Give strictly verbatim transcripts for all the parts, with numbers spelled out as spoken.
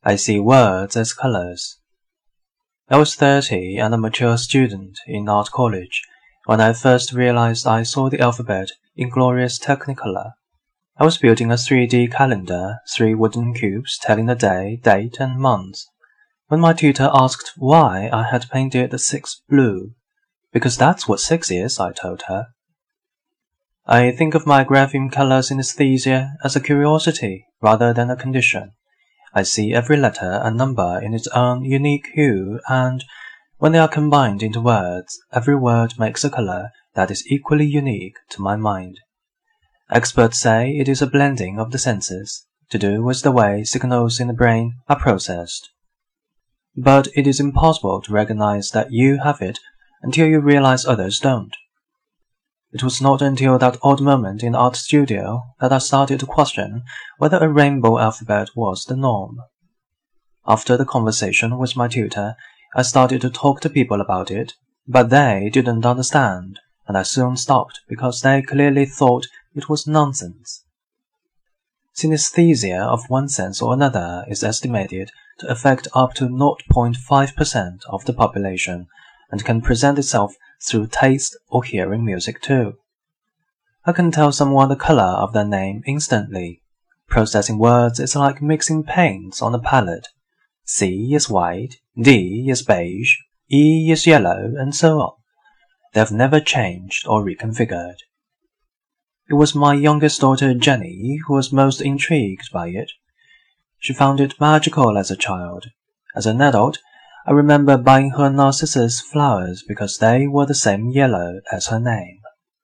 I see words as colors. I was thirty and a mature student in art college when I first realized I saw the alphabet in glorious technicolor. I was building a three D calendar, three wooden cubes telling the day, date, and month, when my tutor asked why I had painted the six blue. Because that's what six is, I told her. I think of my grapheme color synesthesia as a curiosity rather than a condition. I see every letter and number in its own unique hue, and when they are combined into words, every word makes a color that is equally unique to my mind. Experts say it is a blending of the senses, to do with the way signals in the brain are processed. But it is impossible to recognize that you have it until you realize others don't. It was not until that odd moment in the art studio that I started to question whether a rainbow alphabet was the norm. After the conversation with my tutor, I started to talk to people about it, but they didn't understand, and I soon stopped because they clearly thought it was nonsense. Synesthesia of one sense or another is estimated to affect up to zero point five percent of the population and can present itself through taste or hearing music too. I can tell someone the color of their name instantly. Processing words is like mixing paints on a palette. C is white, D is beige, E is yellow, and so on. They have never changed or reconfigured. It was my youngest daughter Jenny who was most intrigued by it. She found it magical as a child. As an adult, I remember buying her narcissus flowers because they were the same yellow as her name.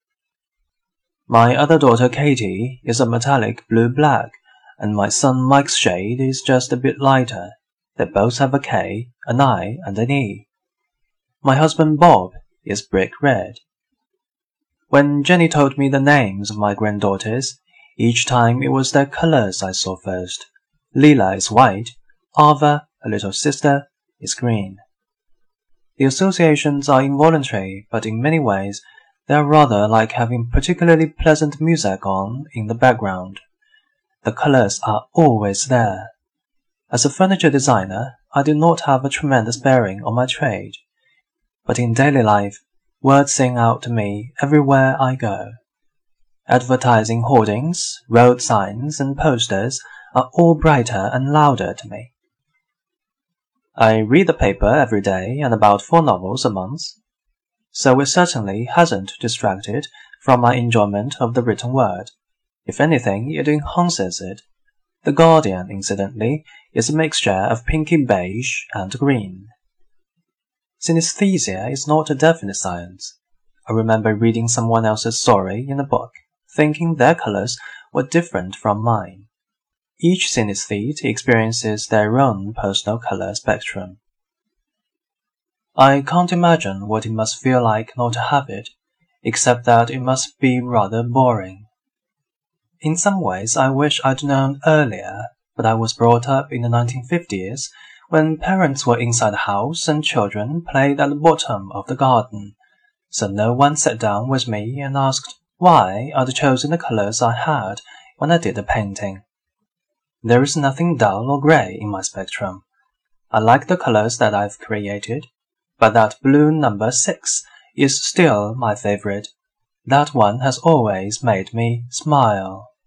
My other daughter Katie is a metallic blue-black, and my son Mike's shade is just a bit lighter. They both have a K, an I, and an E. My husband Bob is brick red. When Jenny told me the names of my granddaughters, each time it was their colors I saw first. Leela is white, Ava, her little sister, is green. The associations are involuntary, but in many ways they are rather like having particularly pleasant music on in the background. The colors are always there. As a furniture designer, I do not have a tremendous bearing on my trade, but in daily life, words sing out to me everywhere I go. Advertising hoardings, road signs, and posters are all brighter and louder to me. I read the paper every day and about four novels a month, so it certainly hasn't distracted from my enjoyment of the written word. If anything, it enhances it. The Guardian, incidentally, is a mixture of pinky beige and green. Synesthesia is not a definite science. I remember reading someone else's story in a book, thinking their colors were different from mine. Each synesthete experiences their own personal color spectrum. I can't imagine what it must feel like not to have it, except that it must be rather boring. In some ways, I wish I'd known earlier, but I was brought up in the nineteen fifties, when parents were inside the house and children played at the bottom of the garden, so no one sat down with me and asked why I'd chosen the colors I had when I did the painting. There is nothing dull or grey in my spectrum. I like the colors that I've created, but that blue number six is still my favorite. That one has always made me smile.